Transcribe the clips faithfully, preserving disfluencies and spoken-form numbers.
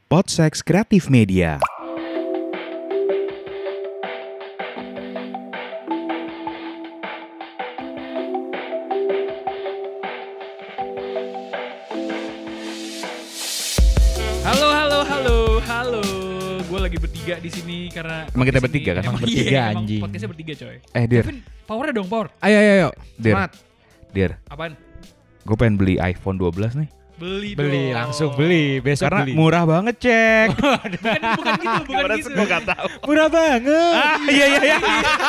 Podsex Kreatif Media. Halo, halo, halo, halo. Gue lagi bertiga di sini karena Emang kita podcast bertiga ini- kan? Emang Emang bertiga, iya, emang anjing. Podcastnya bertiga coy. Eh Dir, Kevin, powernya dong power. Ayo ayo ayo. Dir, Semangat. Dir, Apaan? gue pengen beli iPhone dua belas nih. Beli, Beli dong. langsung beli, besok Karena beli. murah banget, cek. Bukan, bukan gitu, bukan gitu. Gue gak tahu. Murah banget. Ah, iya iya iya.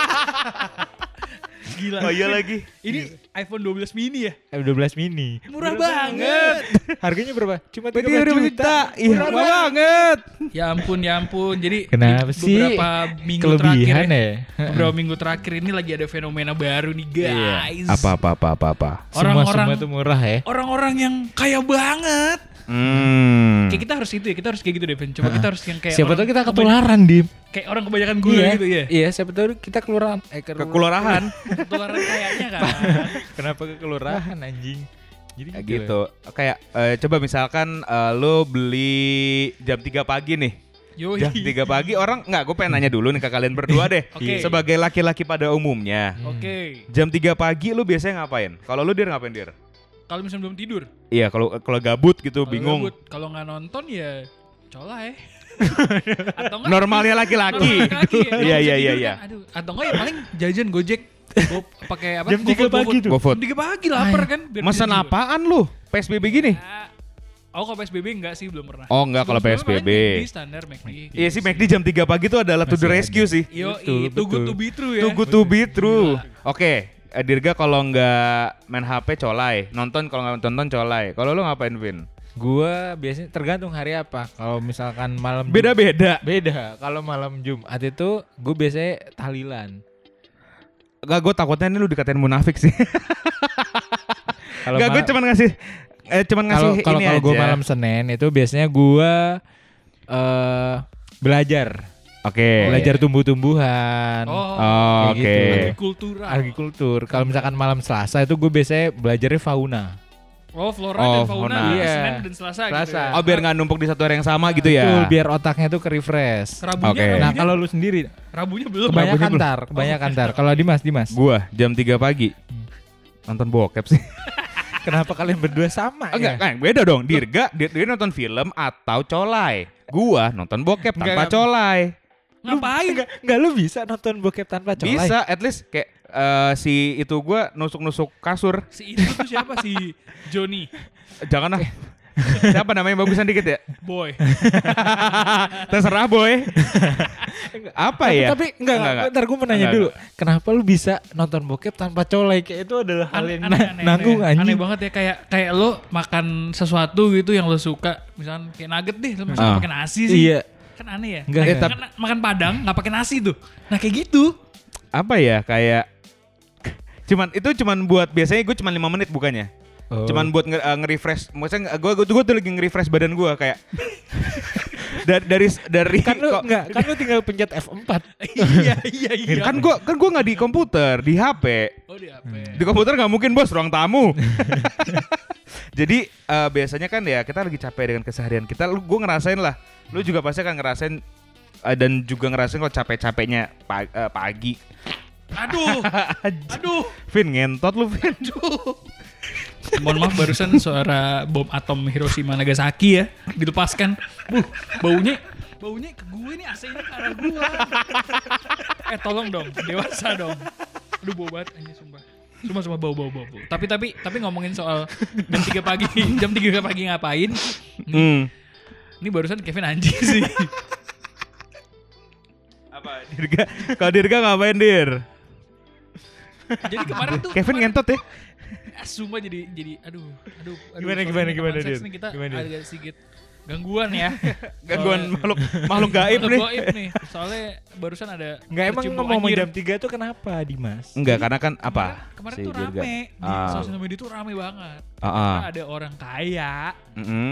Gila. Oh iya lagi. Ini iPhone dua belas mini ya? F dua belas mini. Murah, banget. Harganya berapa? Cuma tiga tiga belas juta. Iya, Murah murah banget. Ya ampun, ya ampun. Jadi Kenapa di sih? beberapa minggu terakhir Kelebihan ya, ya. beberapa minggu terakhir ini lagi ada fenomena baru nih guys. Apa apa apa apa apa. Semua Orang-orang semua tuh murah ya. orang-orang yang kaya banget. Hmm. Kayak kita harus itu ya, kita harus kayak gitu deh, Ben. Coba kita harus yang kayak Siapa orang tahu kita kebany- ketularan, Dim. Kayak orang kebanyakan gula gitu ya. Iya, siapa tahu kita kelurahan. Eh, Ke kelurahan. Ketularan kayaknya kan. Kenapa ke kelurahan anjing? Jadi Kayak gitu. Kayak eh, coba misalkan eh, lo beli jam tiga pagi nih. Yoi. Jam tiga pagi orang enggak, gue pengen nanya dulu nih ke kalian berdua deh. Oke. Sebagai laki-laki pada umumnya, Oke. jam tiga pagi lu biasanya ngapain? Kalau lu Dir ngapain, Dir? Kalau misalnya belum tidur, Iya, kalau kalau gabut gitu kalau bingung. gabut, kalau nggak nonton ya colai. Atau enggak Normalnya laki-laki. laki-laki ya, kalau Iya bisa iya iya tidur iya. kan, aduh. Atau enggak ya paling jajan Gojek. Go, pakai apa? Jam tiga GoFood, pagi GoFood. tuh. GoFood. Jam tiga pagi lapar kan. biar Mesen bisa tidur. apaan lu? P S B B gini? Ya, Oh kalau P S B B enggak sih, belum pernah. Oh, enggak, kalau Sebelum-sebelumnya P S B B. paling McD, standar McD. Iya sih, McD jam tiga pagi tuh adalah to the Masih rescue ada. sih. Yo, Betul, itu good betul. to be true ya. Too good to be true. Gila. Oke, eh, Dirga kalau nggak main H P colai, nonton kalau nggak nonton colai. Kalau lu ngapain, Vin? Gua biasanya tergantung hari apa. Kalau misalkan malam Jum- Beda-beda. Beda. Kalau malam Jumat itu gue biasanya tahlilan. Gak, gue takutnya ini lu dikatain munafik sih. Kalau Gak, gue mal- cuman ngasih eh cuman ngasih Kalau kalau ini kalau aja. gue malam Senin itu biasanya gue eh belajar, Oke. belajar tumbuh-tumbuhan, Oh, Oh, kayak oke. gitu. agrikultural. agrikultur. Kalau misalkan malam Selasa itu gue biasanya belajarnya fauna. Oh, flora Oh, dan fauna fauna. di Iya. Senin dan Selasa, gitu Selasa. ya. Oh, biar nggak numpuk di satu hari yang sama gitu ya. Betul, biar otaknya tuh ke refresh. Rabunya, Oke. Rabunya, Nah kalau lu sendiri Rabunya belum. kebanyakan belum. tar, kebanyakan tar. Kalau Dimas, Dimas, Gua jam tiga pagi nonton bokep sih. kenapa kalian berdua sama? Enggak, ya? kan beda dong. Dirga dia, dia nonton film atau colai. Gua nonton bokep tanpa Enggak, enggak. colai. Ngapain? Enggak, enggak lu bisa nonton bokep tanpa colai. Bisa, at least kayak eh, si itu gua nusuk-nusuk kasur. Si itu tuh siapa? Si Johnny Jangan lah. Siapa namanya, bagusan dikit ya? Boy. Terserah boy. Apa Tapi, ya? tapi enggak, enggak, Ntar gue mau nanya Enggak, dulu. Kenapa lu bisa nonton bokep tanpa colai? Kayak itu adalah hal yang Aneh, na- aneh, nanggung aneh. anjing. Aneh banget ya, kayak kayak lo makan sesuatu gitu yang lo suka, misalnya kayak nugget deh, lo misalnya Ah. pakai nasi sih. Iya. Kan aneh ya. Enggak, Kayak enggak. makan, makan padang nggak pakai nasi tuh. Nah kayak gitu. Apa ya? Kayak cuman itu cuman buat biasanya gue cuman lima menit bukannya. Oh. Cuman buat nge- uh, nge-refresh. Maksudnya gue gue gue tuh lagi nge-refresh badan gue kayak dari dari dari kan lu kok- enggak, kan lu tinggal pencet F empat. Iya iya iya. kan gue kan gue nggak di komputer, di H P. Oh di H P. Di komputer nggak mungkin bos, ruang tamu. Jadi uh, biasanya kan ya kita lagi capek dengan keseharian kita. Lu gue ngerasain lah. Lu juga pasti akan ngerasain uh, dan juga ngerasain kalau capek-capeknya pa- uh, pagi. Aduh. Aduh. Vin ngentot lu Vin. Aduh. Mohon maaf, barusan suara bom atom Hiroshima Nagasaki ya dilepaskan. Buh, baunya baunya ke gue nih, A C-nya ke arah gue. Eh tolong dong, dewasa dong. Aduh bau banget anjing sumpah. Sumpah sumpah bau bau bau. bau. Tapi tapi tapi ngomongin soal jam tiga pagi, jam tiga pagi ngapain? Hmm. Ini barusan Kevin anjing sih. Apa Dirga? Kalau Dirga ngapain Dir? Jadi kemarin tuh Kevin kemarin, ngentot ya? ah, sumpah jadi jadi aduh aduh aduh. Gimana, soalnya gimana, teman gimana, seks Dir? nih kita Gimana, Dir? agak sedikit gangguan ya. Gangguan Soalnya- makhluk makhluk gaib Makhluk nih. gaib nih. Soalnya barusan ada Enggak, emang tercium ngomong anjir. jam tiga tuh kenapa, Dimas? Enggak, karena kan apa? Kemarin, kemarin si tuh Dirga? rame di Ah. sosial media tuh rame banget. Ah, ah. Karena ada orang kaya Mm-mm.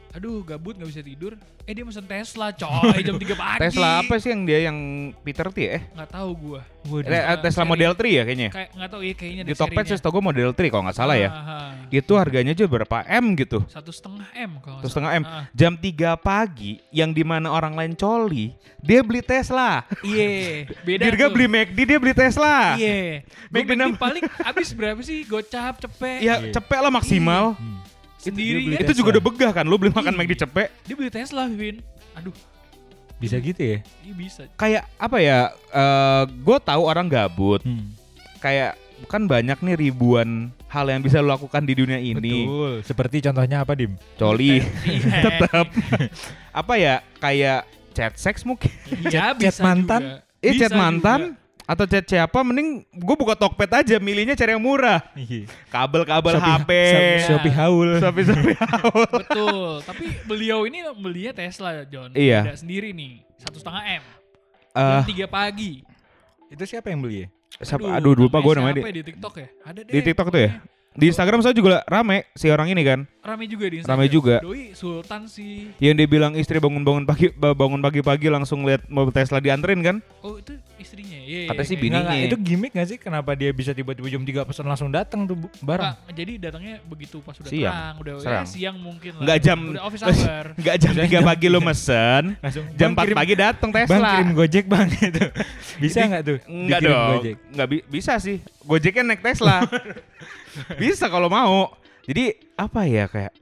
aduh gabut gak bisa tidur. Eh dia mesen Tesla coy jam tiga pagi. Tesla apa sih yang dia yang Peter T ya? Eh, Gak tahu gua. Eh, Tesla seri. Model tiga ya kayaknya. Kayak gak tahu ya kayaknya Di Tokped sih tau gue Model tiga kalau nggak salah ya. Ah, Itu harganya juga berapa M gitu. Satu setengah M kalau Satu nggak setengah M. salah. Ah. Jam tiga pagi yang dimana orang lain coli, dia beli Tesla. Iya, beda Dirga tuh. beli McD, dia beli Tesla. Iya. Gue McD enam- paling habis berapa sih? Gocap, cepet. Ya cepet lah maksimal. Sendiri beli ya. Itu juga udah begah kan, lu beli makan Iya. McD cepet. Dia beli Tesla, Vin. Aduh, Bisa gitu ya? dia bisa. Kayak apa ya, uh, gue tahu orang gabut. Hmm. Kayak kan banyak nih ribuan hal yang bisa lo lakukan di dunia ini. Betul. Seperti contohnya apa, Dim? Coli. Iya. Tetap. Apa ya, kayak chat seks mungkin. Iya, Chat- chat bisa mantan? juga. Eh Bisa chat mantan juga. atau chat siapa, mending gue buka Tokped aja, milihnya cari yang murah. Kabel-kabel H P. Shopee, Shopee haul. Shopee Shopee. Betul. Tapi beliau ini belinya Tesla, John. Iya. Beda sendiri nih. Satu setengah M. Eh, Jam tiga pagi. Itu siapa yang beli ya? siapa- aduh lupa gue namanya. Siapa Di, ya di TikTok ya? Ada deh. di TikTok tuh ya. pokoknya. Di Instagram saya juga rame si orang ini kan. Rame juga di Instagram. Rame juga. Doi Sultan sih. Yang dia bilang istri bangun-bangun pagi bangun pagi-pagi langsung lihat mobil Tesla dianterin kan. Oh itu istrinya. Iya. Katanya sih kayak- bininya. Enggak, enggak, itu gimmick gak sih? Kenapa dia bisa tiba-tiba jam tiga pesan langsung datang tuh bu- barang? Nggak, jadi datangnya begitu pas udah Siang. terang, udah Serang. ya, siang mungkin lah. Enggak jam Udah office hour. Enggak jam tiga pagi lo mesen. Langsung Jam empat pagi datang Tesla. Bang kirim Gojek bang gitu. Bisa nggak tuh? Enggak dikirim dong. Gojek? Enggak bi- bisa sih. Gojeknya naik Tesla. Bisa kalau mau. Jadi apa ya, kayak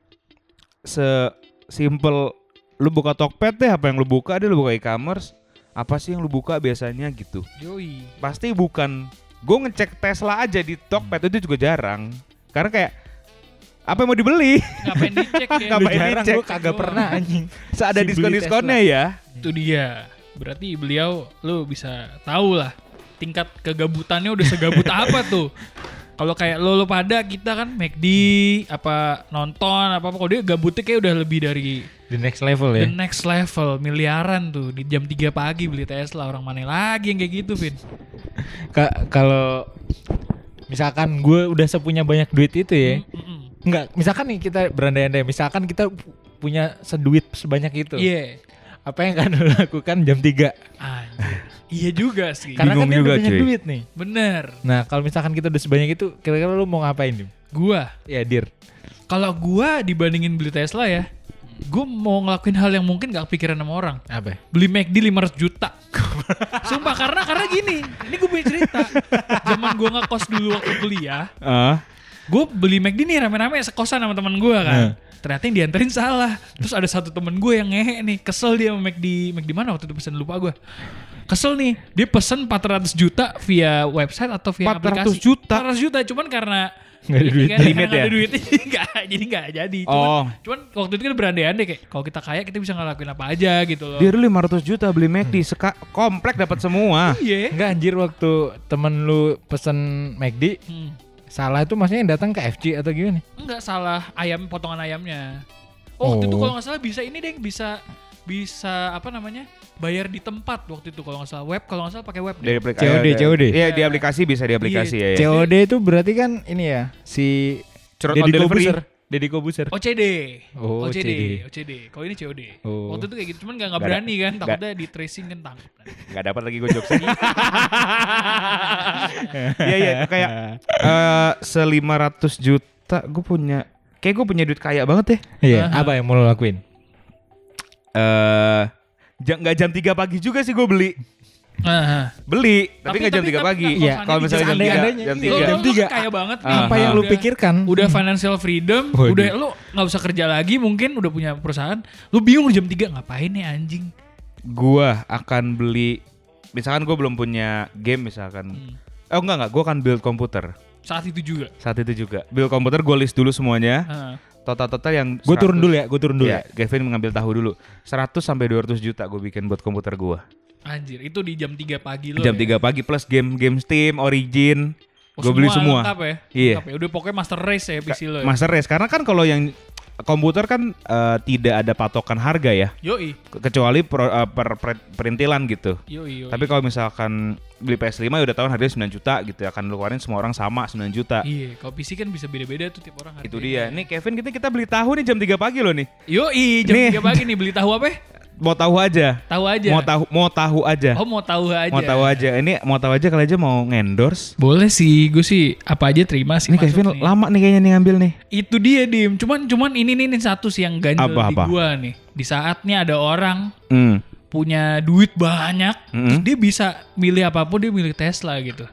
se-simple lu buka Tokped deh, apa yang lu buka deh, lu buka e-commerce. Apa sih yang lu buka biasanya gitu. Yoi. Pasti bukan, gue ngecek Tesla aja di Tokped itu juga jarang. Karena kayak apa yang mau dibeli? Ngapain dicek ya? Ngapain Lu jarang, dicek? gue kagak pernah anjing. Seada Si beli diskon-diskonnya ya. Itu dia. Berarti beliau lu bisa tahu lah tingkat kegabutannya udah segabut apa tuh. Kalau kayak lo, lo pada kita kan McD apa nonton apa apa, kalau dia gabutnya kayak udah lebih dari The next level ya. the next level, miliaran tuh di jam tiga pagi beli Tesla. Orang mana lagi yang kayak gitu, Vin? Ka- Kalau misalkan gue udah sepunya banyak duit itu ya. Mm, mm, mm. Enggak, misalkan nih kita berandai-andai, misalkan kita pu- punya seduit sebanyak itu. Iya. Apa yang akan lo lakukan jam tiga? Anjir. Iya juga sih. Karena Bingung kan dia juga, udah banyak cuy. duit nih. Bener. Nah, kalau misalkan kita udah sebanyak itu, kira-kira lu mau ngapain, Dim? Gua Ya, Dir. kalau gua dibandingin beli Tesla ya, gua mau ngelakuin hal yang mungkin gak kepikiran sama orang. Apa? Beli McD lima ratus juta. Sumpah, karena karena gini, ini gue punya cerita. Zaman gue ngekos dulu waktu kuliah, Ah, gue beli McD nih rame-rame sekosan sama teman gue kan. Hmm. Ternyata yang dianterin salah. Terus ada satu temen gue yang ngehe nih, kesel dia sama McD. McD mana waktu itu pesen, lupa gue. Kesel nih, dia pesen empat ratus juta via website atau via empat ratus aplikasi. juta? empat ratus juta, cuman karena Nggak ada duit. Karena Limit nggak ya? ada duit, nggak, jadi nggak jadi. Cuman, Oh. cuman waktu itu kan berandai-andai kayak kalau kita kaya kita bisa ngelakuin apa aja gitu loh. dia dulu lima ratus juta beli McD, seka komplek dapat semua. Iya. Enggak anjir, waktu temen lu pesen McD, Hmm. salah itu maksudnya yang datang ke F C atau gimana? Enggak, salah ayam, potongan ayamnya. Oh, waktu itu Oh. kalau nggak salah bisa ini deh, bisa bisa apa namanya, bayar di tempat waktu itu kalau nggak salah, web kalau nggak salah pakai web deh. Dari aplikasi. C O D, C O D. Iya, di aplikasi bisa di aplikasi ya. C ya. O D itu berarti kan ini ya, si Curhat Deddy on delivery. Kobuser. Deddy Kobuser. O C D. Oh, O C D, O C D. O C D. Kalau ini C O D. Oh. Waktu itu kayak gitu, cuman nggak nggak Nggak ada- berani kan, nggak- takutnya di tracing kan tangkap. Nggak dapat lagi gue jokesnya. Iya iya, kayak eh selima ratus juta gue punya, kayak gue punya duit kaya banget ya. Iya, Aha. apa yang mau lo lakuin? Eh jam nggak jam tiga pagi juga sih gue beli. Nah, beli, tapi Tapi- nggak jam tapi- tiga tapi pagi. nggak Iya, kalau Kalau misalnya jam tiga, seandainya, jam iya. tiga. lo, Jam lo tiga. kan kaya banget nih. Ah, Apa yang lu Udah- pikirkan? Udah financial freedom, Waduh. udah lu nggak usah kerja lagi mungkin, udah punya perusahaan. Lu bingung jam tiga ngapain nih anjing? Gua akan beli, misalkan gue belum punya game misalkan. Hmm. Oh enggak enggak, gue akan build komputer. Saat itu juga. Saat itu juga build komputer, gue list dulu semuanya. Heeh. Total-total yang Gue turun seratus. dulu ya, gue turun dulu Iya, ya. Gavin mengambil tahu dulu. seratus sampai dua ratus juta gue bikin buat komputer gue. Anjir, itu di jam tiga pagi lo. Jam ya? tiga pagi plus game-game Steam, Origin. Oh, Gue beli semua. Lengkap ya? Iya. Lengkap ya? Udah pokoknya master race ya P C lo ya? Master Race, karena kan kalau yang komputer kan uh, tidak ada patokan harga ya. Yoi. Kecuali pro, uh, per, per perintilan gitu. Yoi, yoi. Tapi kalau misalkan beli P S lima ya udah tahun harganya sembilan juta gitu ya. Akan lu keluarin semua orang sama sembilan juta. Iya, kalau P C kan bisa beda-beda tuh tiap orang harganya. Itu dia. Nih Kevin kita kita beli tahu nih jam tiga pagi loh nih. Yoi, jam Nih. tiga pagi nih beli tahu apa? Mau tahu aja. Tahu aja. Mau tahu mau tahu aja. Oh, mau tahu aja. Mau tahu aja. Ini mau tahu aja kalau aja mau ngendorse. Boleh sih, gue sih apa aja terima sih. Ini masuk Kevin nih. lama nih kayaknya nih ngambil nih. Itu dia Dim. Cuman cuman ini nih, nih satu sih yang ganjel Apa, di apa? gua nih. Di saatnya ada orang Hmm. punya duit banyak, Mm-mm. terus dia bisa milih apapun, dia milih Tesla gitu.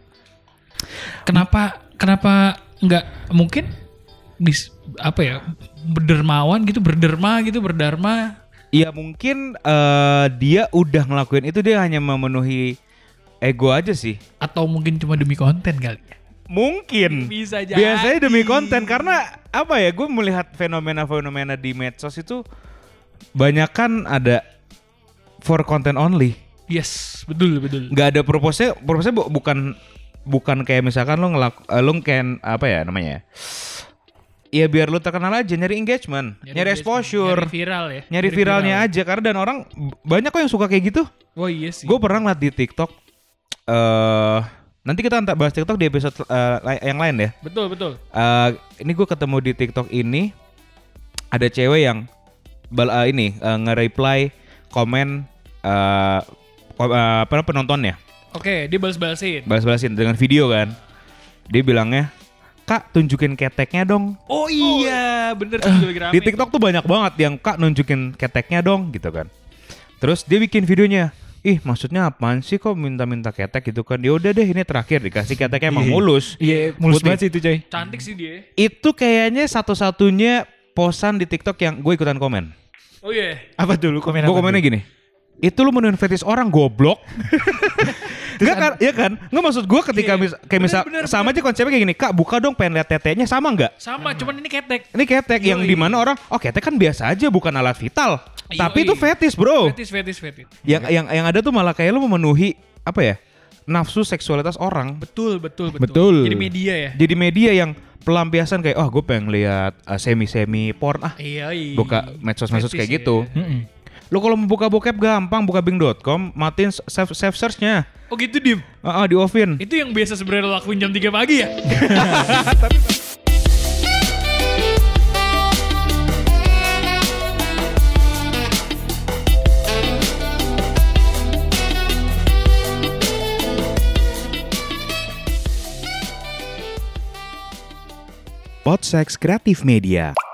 Kenapa kenapa nggak mungkin dis, apa ya berdermawan gitu, berderma gitu, berdharma? Iya mungkin eh, dia udah ngelakuin itu, dia hanya memenuhi ego aja sih. Atau mungkin cuma demi konten kali ya? Mungkin. Bisa jadi. Biasanya demi konten karena apa ya? Gue melihat fenomena-fenomena di medsos itu banyak kan ada for content only. Yes, betul betul. Nggak ada purpose-nya. Purpose-nya bu- bukan bukan kayak misalkan lo ngelak, uh, lo kan apa ya namanya? Ya biar lo terkenal aja, nyari engagement, nyari, engagement, exposure, nyari viral ya, nyari viralnya aja. Karena dan orang b- banyak kok yang suka kayak gitu. Oh iya sih. Gue pernah ngeliat di TikTok. eh nanti kita ntar bahas TikTok di episode uh, li- yang lain ya. Betul betul. Eh, ini gue ketemu di TikTok ini ada cewek yang bal uh, ini uh, nge-reply komen uh, ko- uh, apa penontonnya, Oke, dia balas-balasin. balas-balasin dengan video kan. Dia bilangnya, "Kak, tunjukin keteknya dong." Oh iya, bener tuh juga lagi rame. Di TikTok tuh banyak banget yang, "Kak, nunjukin keteknya dong," gitu kan. Terus dia bikin videonya. Ih, maksudnya apaan sih kok minta-minta ketek gitu kan? Ya udah deh, ini terakhir dikasih keteknya emang mulus. Iya, mulus Putih. banget sih itu coy. Cantik sih dia. Itu kayaknya satu-satunya posan di TikTok yang gue ikutan komen. Oh iya. Apa dulu komen Gue apa komennya dulu? gini. Itu lu menuin fetish orang goblok. Enggak kan? Ya kan? Enggak maksud gue ketika Iya. mis- kayak misal Bener, bener, sama aja konsepnya kayak gini. Kak, buka dong pengen lihat tetenya, sama enggak? Sama, cuman ini ketek. Ini ketek yang Yoi. dimana orang, oh ketek kan biasa aja bukan alat vital. Yoi. Tapi itu fetish, bro. Fetis, fetis, fetis. Yang yang yang ada tuh malah kayak lu memenuhi apa ya? Nafsu seksualitas orang. Betul, betul, betul. Betul. Jadi media ya. Jadi media yang pelampiasan kayak, oh gue pengen lihat uh, semi-semi porn ah. Iya, iya. Buka medsos-medsos Fetis kayak ya. gitu. Mm-mm. Lu kalau mau buka bokep gampang, buka bing dot com, matiin save, save search-nya. Oh gitu, Dim. Ah, ah, di offin. Itu yang biasa sebenarnya lo lakuin jam tiga pagi ya? Podsex Kreatif Media.